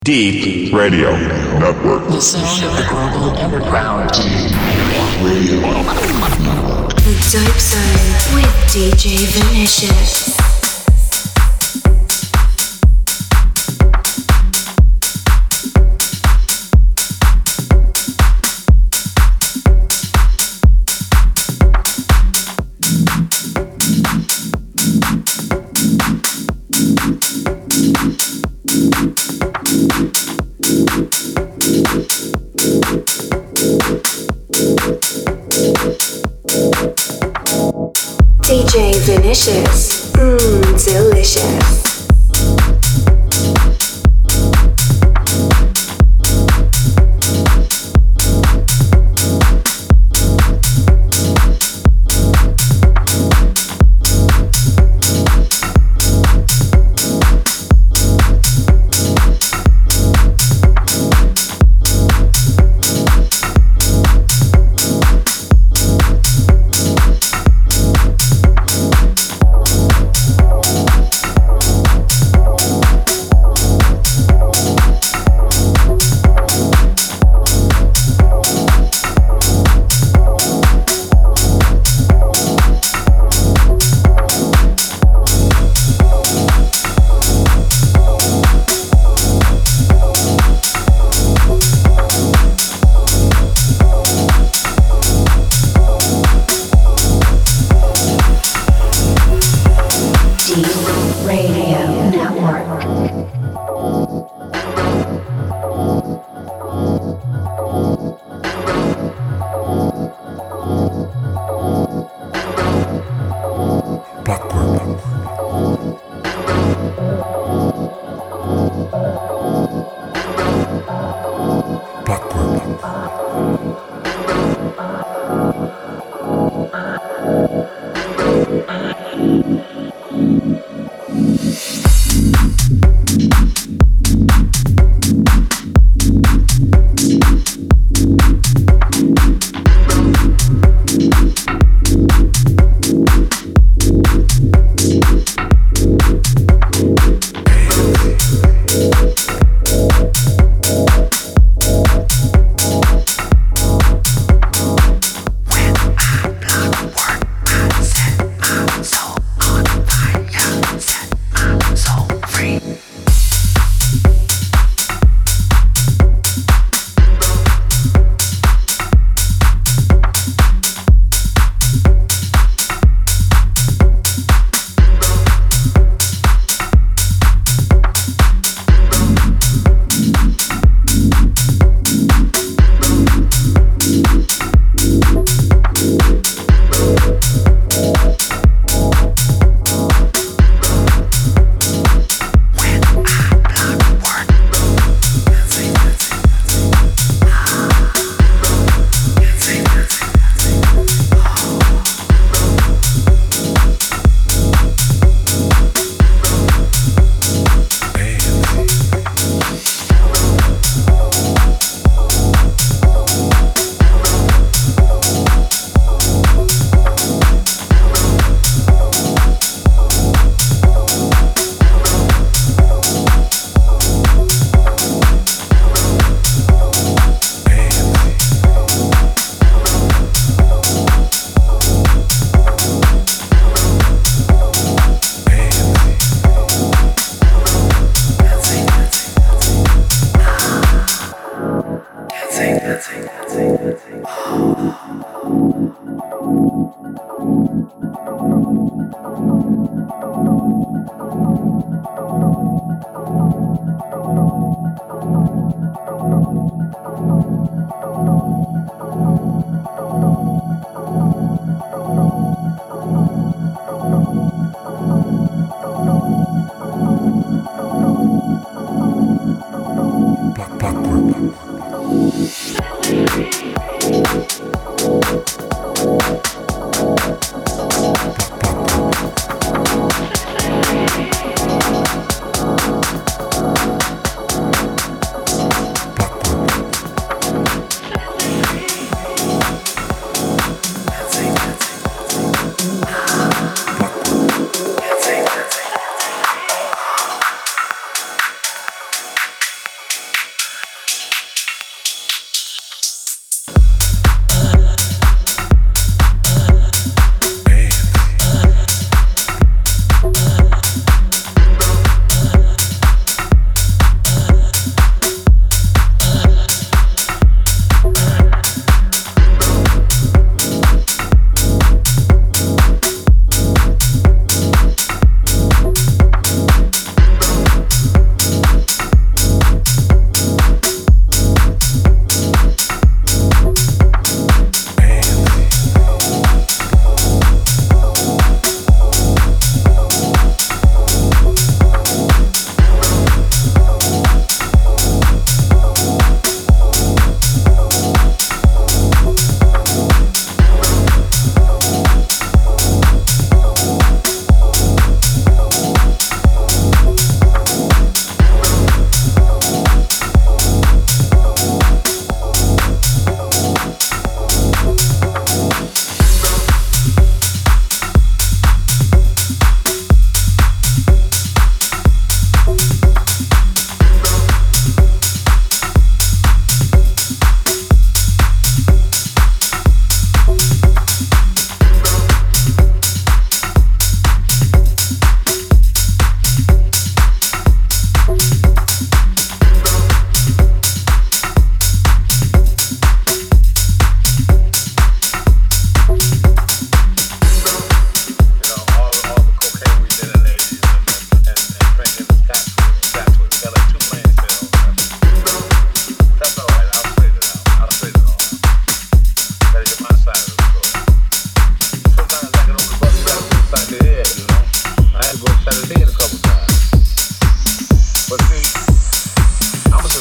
Deep Radio Network. The sound of the global underground. Radio. The Dope Zone with DJ Vinicious. DJ Vinicious, delicious.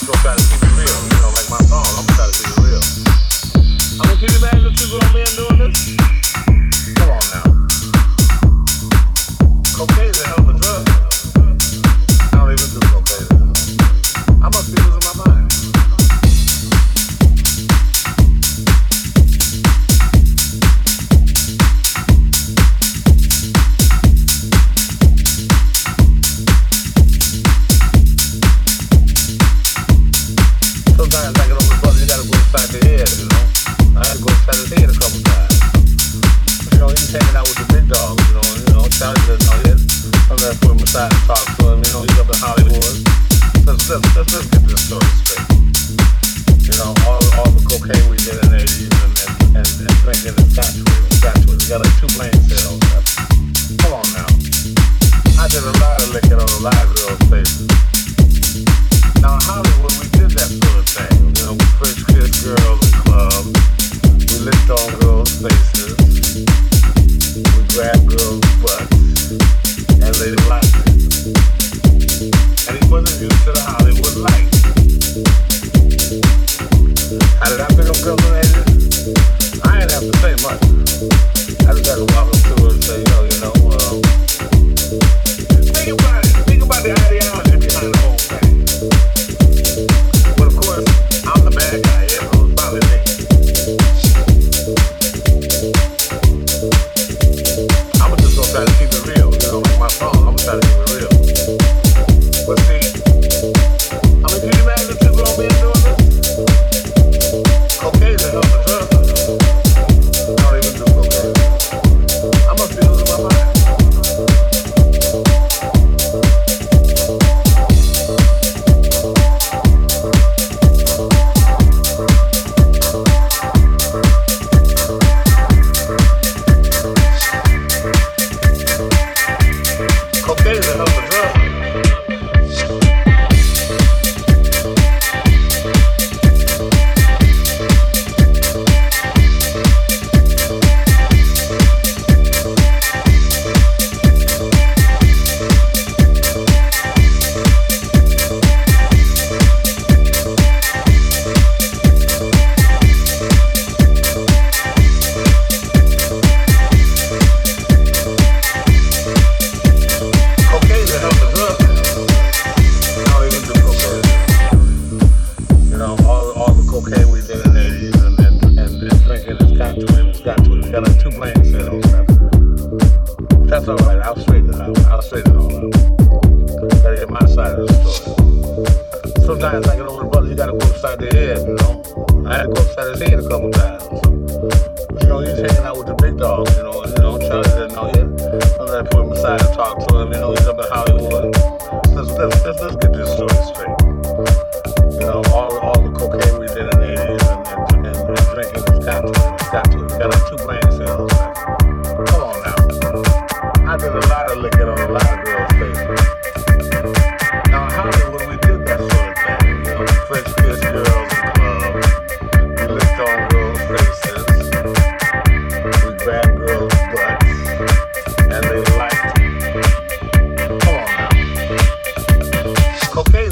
gonna try to keep it real. You know, like my song, I'm gonna try to keep it real. I mean, can you imagine two grown men doing this? Come on now. Cocaine is a hell of a drug. I don't even do cocaine. I must be losing my mind. Sometimes I get on the bus, you gotta go inside the head, you know. I had to go inside his head a couple times. But, you know, he's hanging out with the big dogs, you know, Charlie doesn't know yet. Sometimes I put him aside and talk to him, you know, he's up in Hollywood. Let's get this story straight. You know, all the cocaine we did in the 80s and drinking and got to it. We got like 2 plane sales. Come on now. I did a lot of licking on a lot of girls' faces. Now in Hollywood we did that sort of thing. You know, we French kissed girls in clubs. We licked on girls' faces. We grabbed girls' butts. And they liked it. And he wasn't used to the Hollywood life. How did I pick up girls in the 80s? I didn't have to say much. I just had to walk up to her and say, yo, you know, think about the ideology behind the whole thing. But of course, I'm the bad guy here, so it's probably me. I'm just gonna try to keep it real, you know, like my song, I'm gonna try to keep it real. But see, I mean, can you imagine two grown men doing this? Cocaine is a hell of a drug. I don't even do cocaine. I must be losing my mind. Cocaine is a hell of a drug. That's all right. I'll straighten it out. I'll straighten it all out. Gotta get my side of the story. Sometimes I get over the brother, you gotta go upside the head, you know. I had to go upside his head a couple times. But, you know, he's hanging out with the big dogs, you know, Charlie didn't know yet. Sometimes I put him aside and talk to him, you know, he's up in Hollywood. Let's get this story straight. You know, all the cocaine we did in the 80s and drinking has got to it. We got like 2 plane sales. Come on now. I did a lot of licking on a lot of girls' faces. Now in Hollywood we did that sort of thing. You know, French kissed girls in clubs. We licked on girls' faces. We grabbed girls' butts. And they liked it. Come on now. Cocaine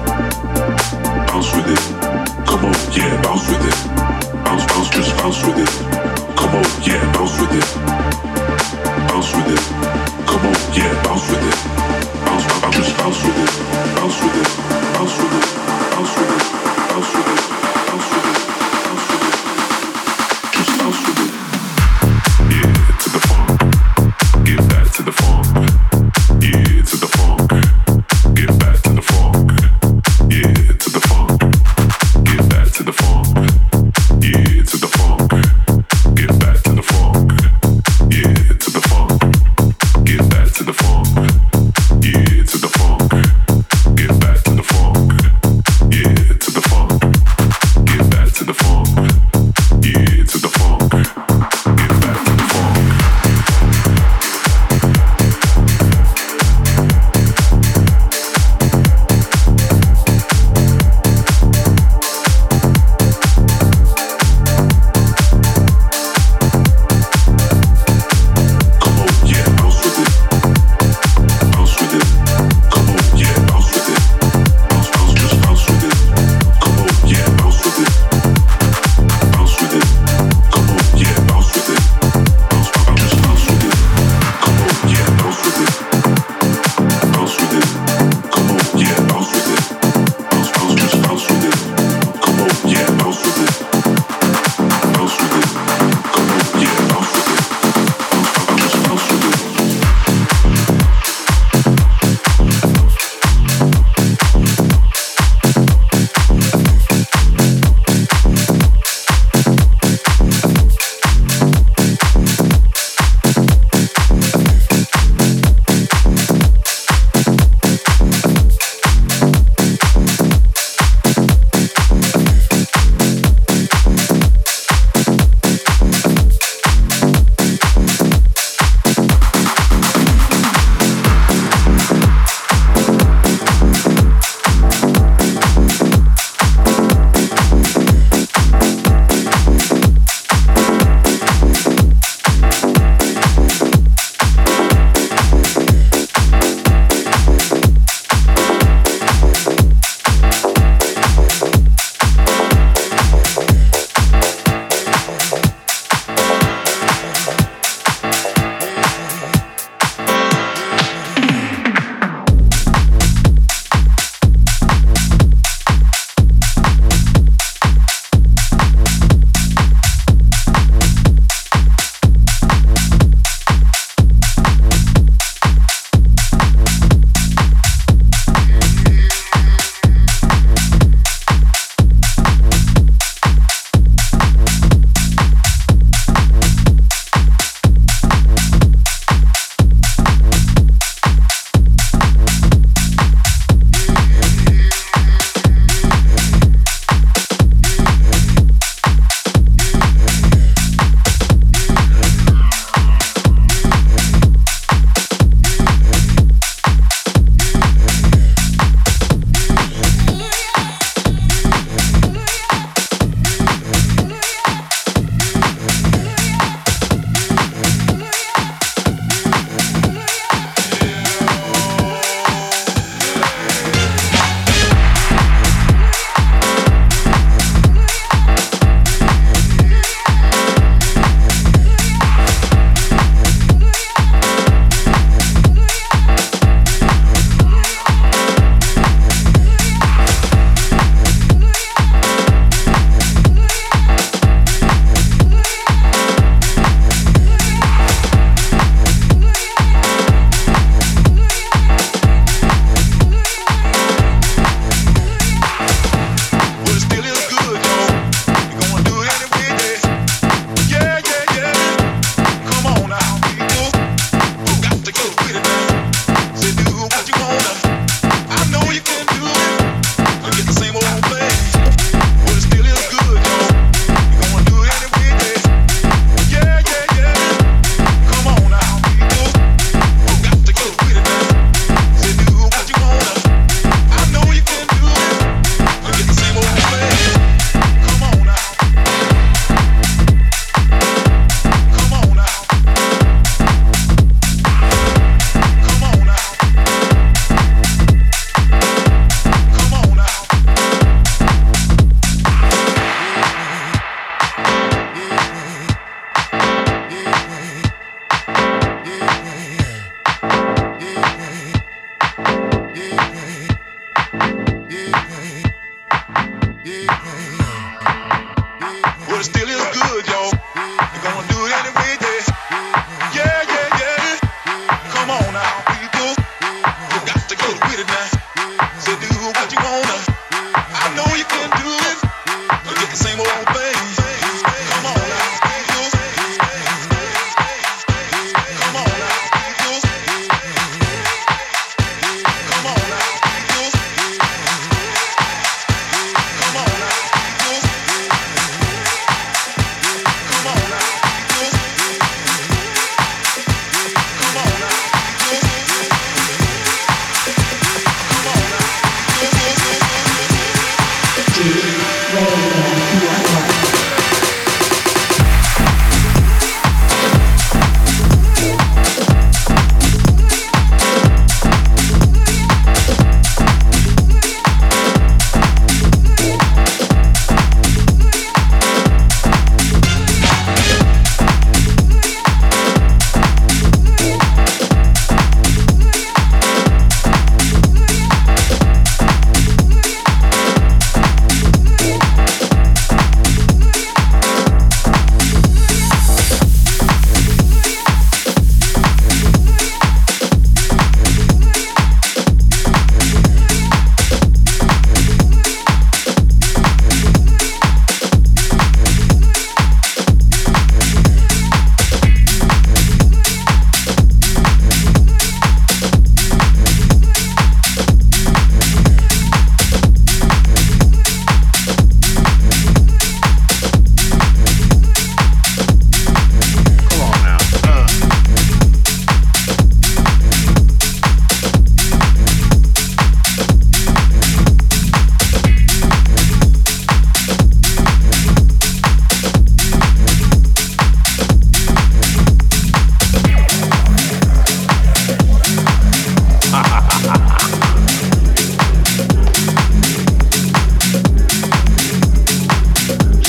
Bounce with it. Come on, yeah, bounce with it. Bounce, bounce, just bounce with it. Come on, yeah, bounce with it. Bounce with it. Come on, yeah, bounce with it. Bounce, bounce, just bounce with it. Bounce with it. Bounce with it. Bounce with it. Bounce with it. Bounce with it. Bounce with it. Just bounce with it. Yeah, to the funk. Get back to the funk. Yeah, to the funk. Get back to the funk. Yeah, to the funk. Get back to the funk. Yeah, to the funk. Get back to the funk. Yeah, to the funk. Get back to the funk. Yeah, to the funk. Get back to the funk.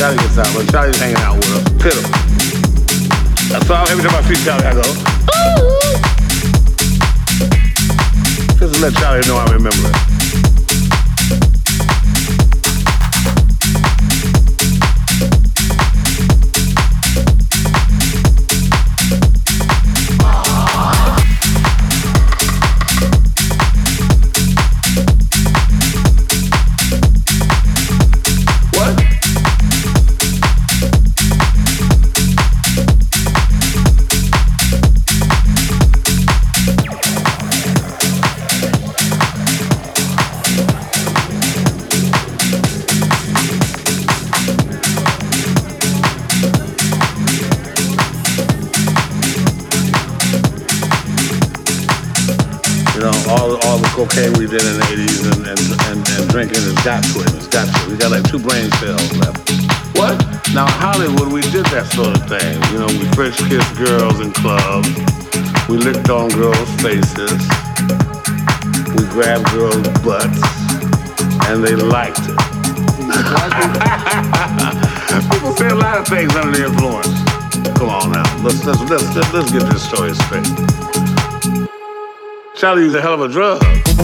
Charlie gets out, but Charlie's hanging out with us. Pitiful. That's all. Every time I see Charlie, I go, ooh. Just to let Charlie know I remember it. Cocaine we did in the 80s and drinking has got to it. It's got to it. We got like 2 brain cells left. What? Now Hollywood, we did that sort of thing. You know, we French kissed girls in clubs. We licked on girls' faces. We grabbed girls' butts. And they liked it. People say a lot of things under the influence. Come on now. Let's get this story straight. Charlie used a hell of a drug.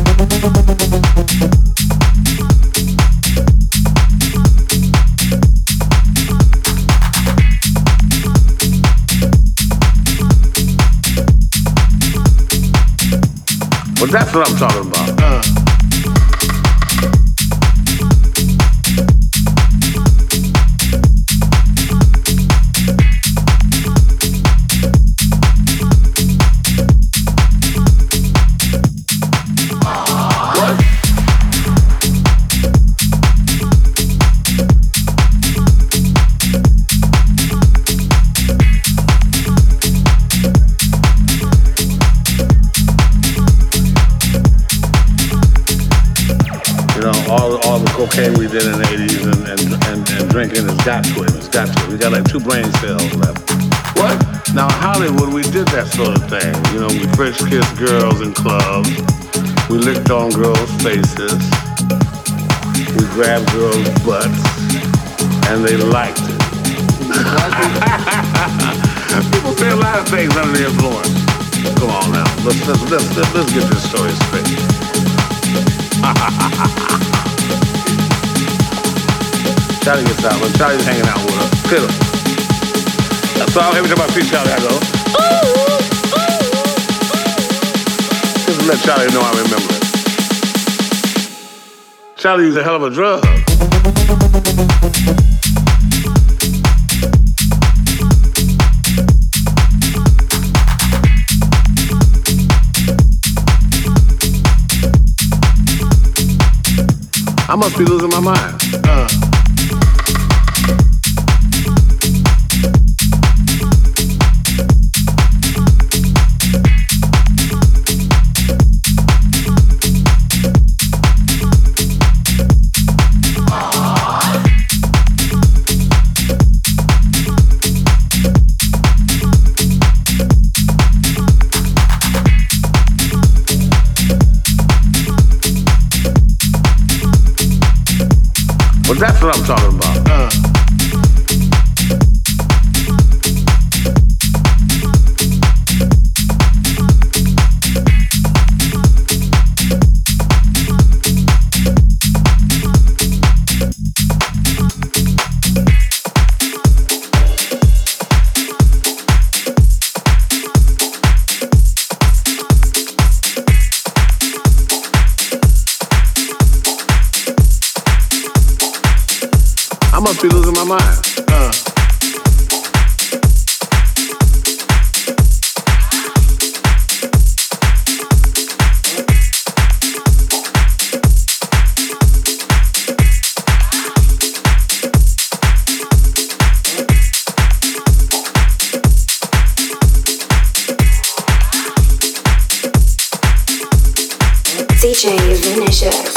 Well, that's what I'm talking about. Cocaine we did in the 80s and drinking has got to it. It's got to it. We got like 2 brain cells left. What? Now Hollywood, we did that sort of thing. You know, we French kissed girls in clubs. We licked on girls' faces. We grabbed girls' butts. And they liked it. People say a lot of things under the influence. Come on now. Let's get this story straight. Charlie gets out, but Charlie's hanging out with us. Pitiful. That's all. Every time I see Charlie, I go, ooh. Just to let Charlie know I remember it. Charlie used a hell of a drug. I must be losing my mind. Well, that's what I'm talking about. I must be losing my mind. DJ Vinicius.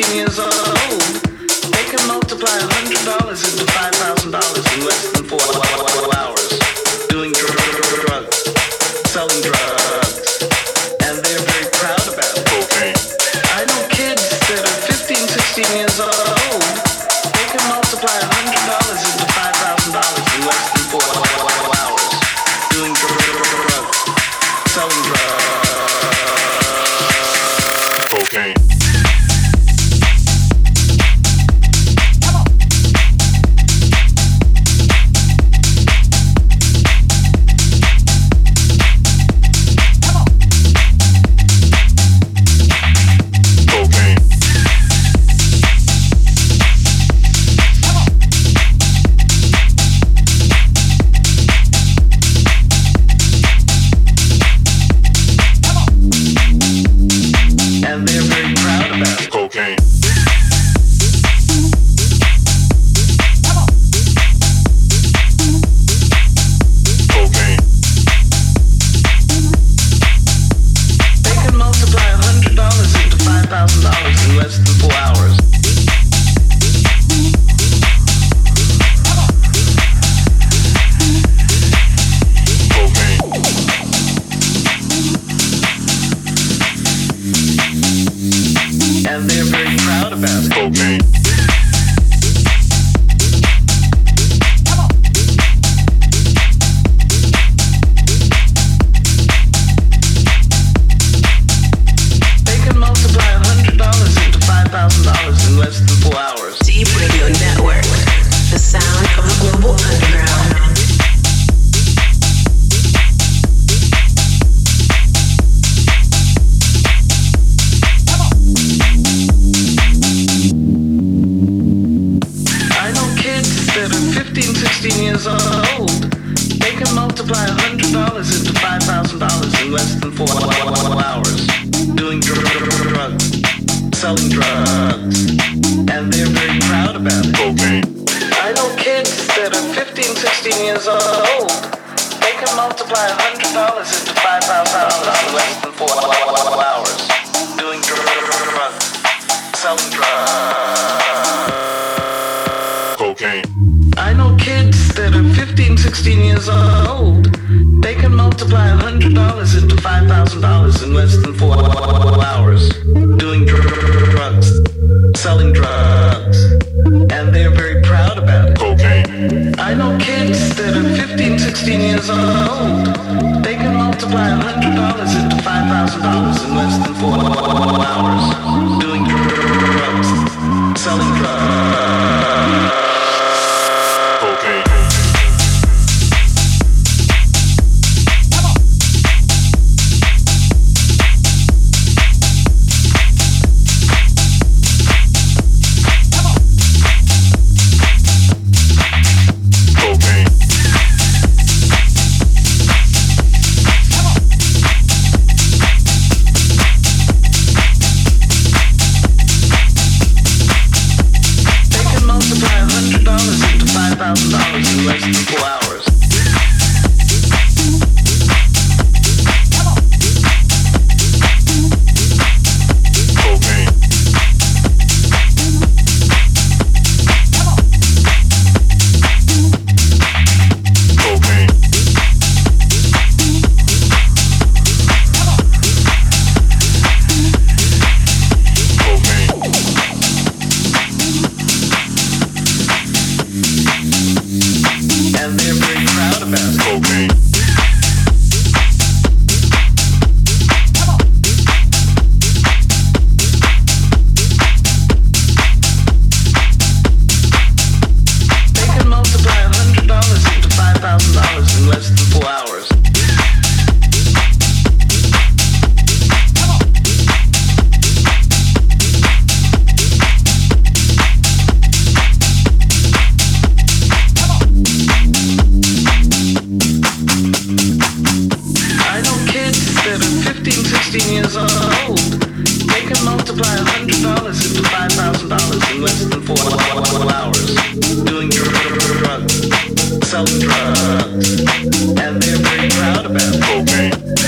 16 years old, they can multiply $100 into $5,000 in less than 4 hours, doing drugs, selling drugs, and they're very proud about it. Cocaine. I know kids that are 15, 16 years old, they can multiply $100 into $5,000 in less than 4 hours, doing drugs, selling drugs. Cocaine.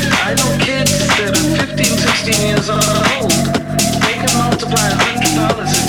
$100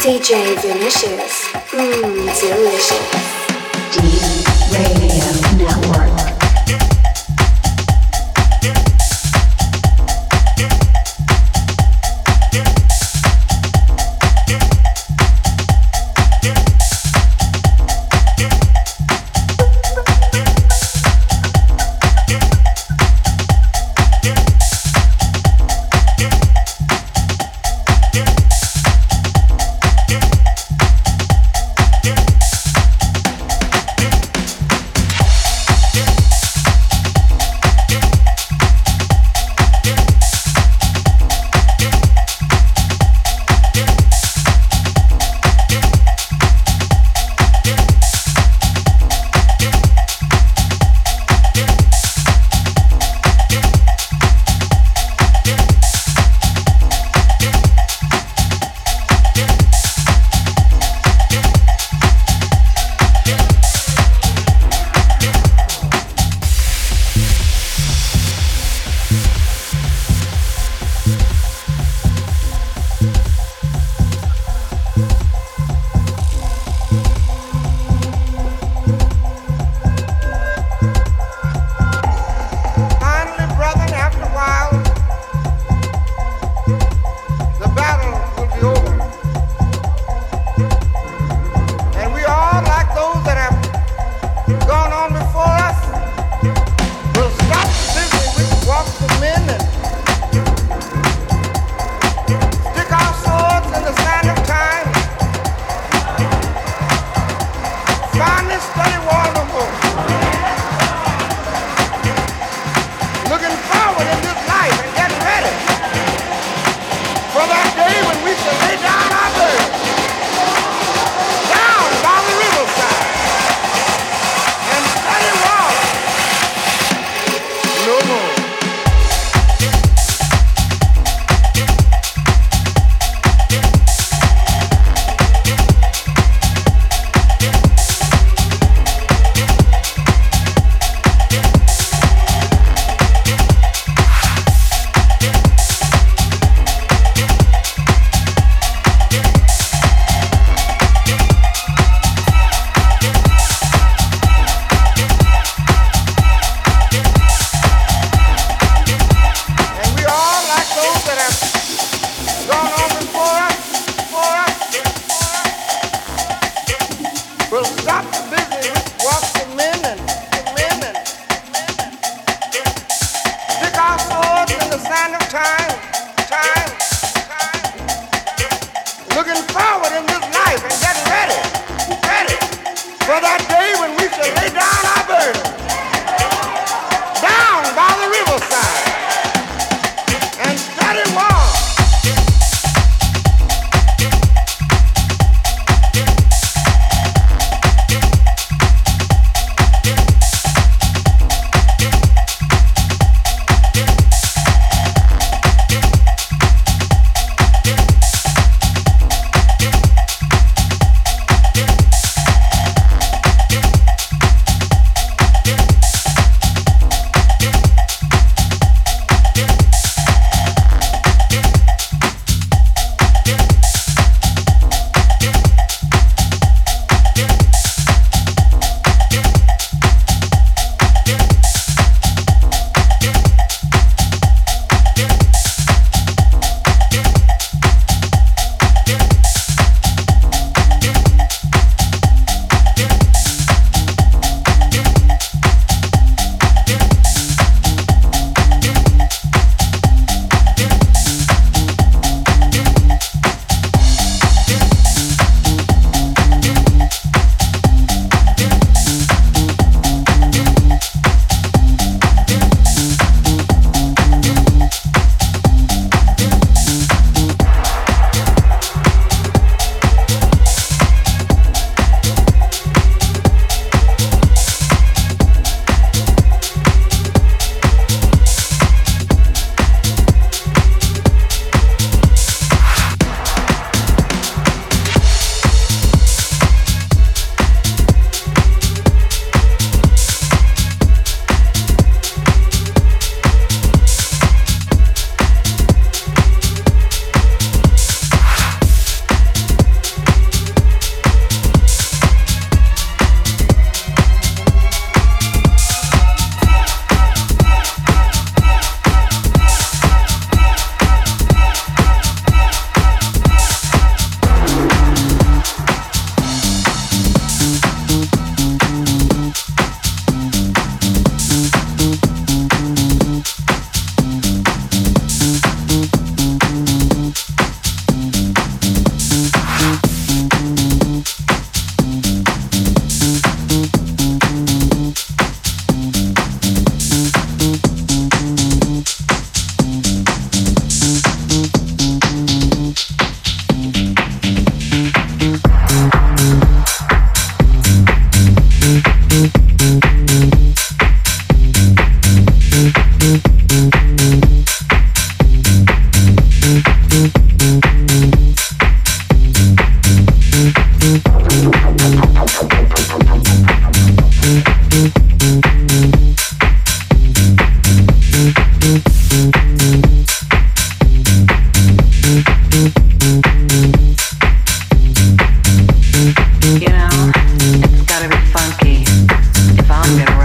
DJ Vinicious. Delicious. Deep Radio Network.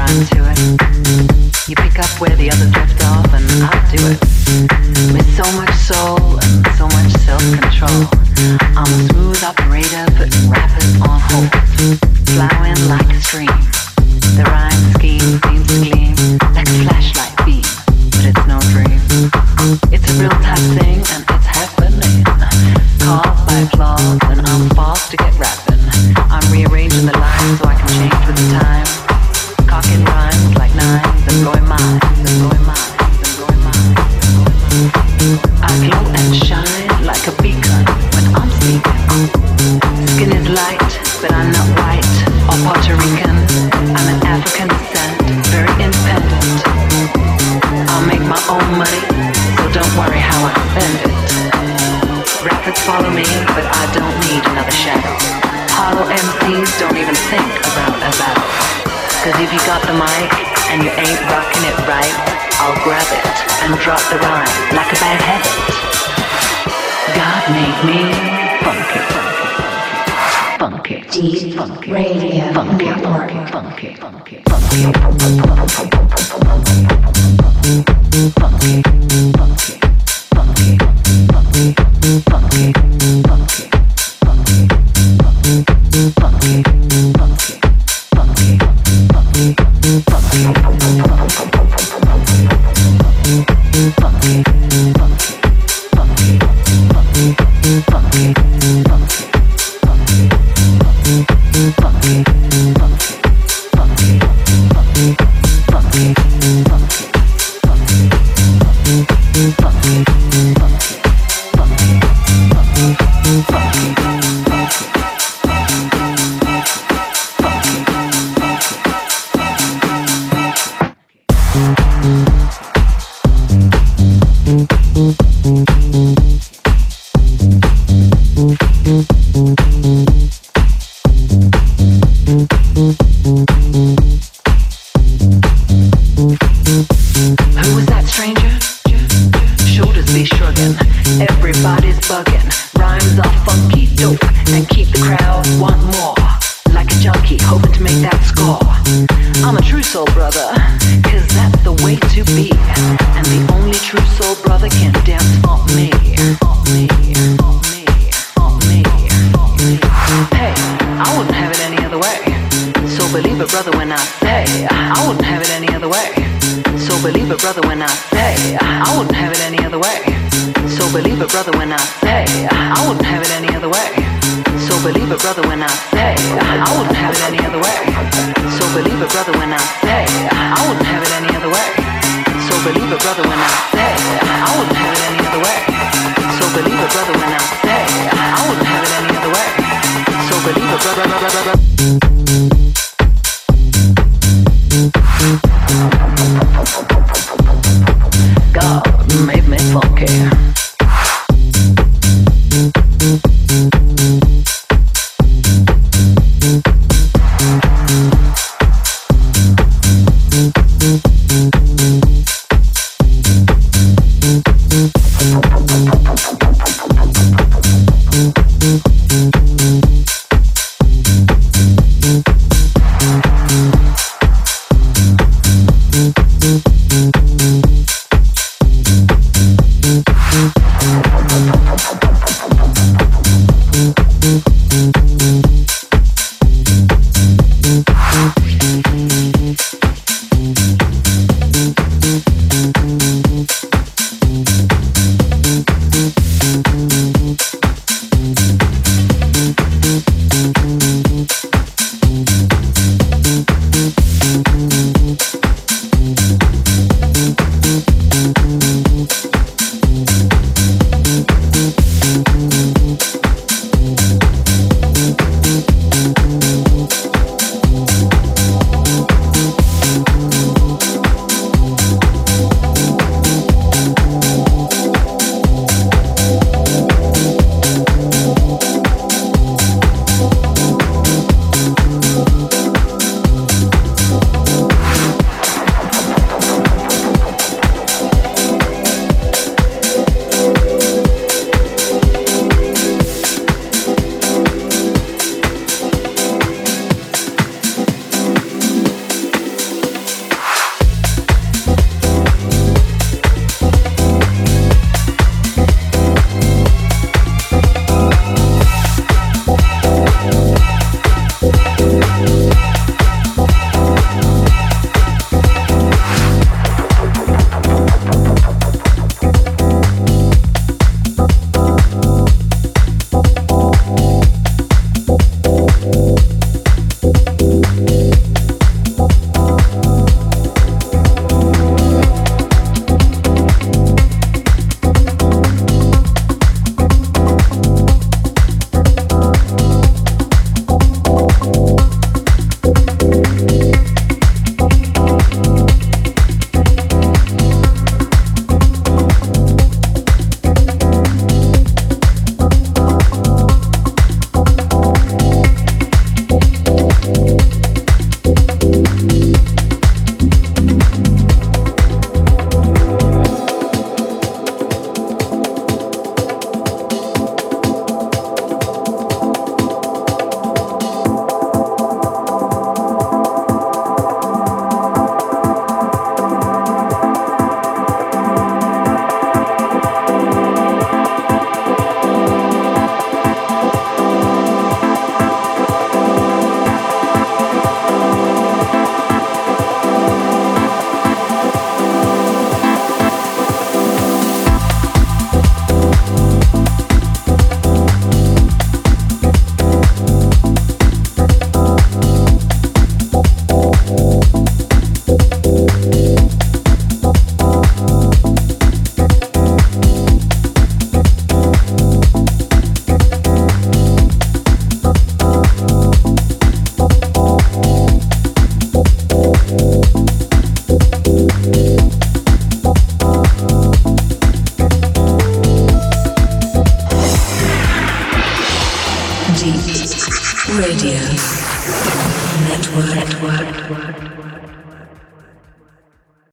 rhyme to it. You pick up where the others left off, and I'll do it. With so much soul and so much self-control, I'm a smooth operator, putting rappers on hold. Flowing like a stream, the rhyme scheme seems to gleam like a flashlight beam, but it's no dream. It's a real type thing, and it's happening. Caused by flaws, and I'm forced to get rapping. I'm rearranging the lines so I can change with the time. Cocking rhymes like nines and blowing minds and blowing minds and blowing minds. I glow and shine like a beacon when I'm speaking. Skin is light, but I'm not white or Puerto Rican. I'm an African descent, very independent. I'll make my own money, so don't worry how I spend it. Rappers follow me, but I don't need another shadow. Hollow MCs don't even think about a battle. Cause if you got the mic and you ain't rocking it right, I'll grab it and drop the rhyme like a bad habit. God made me funky, funky, funky, Deep funky, Radio funky, Network. funky, funky, funky, funky, funky, funky, funky, funky, funky, funky, funky,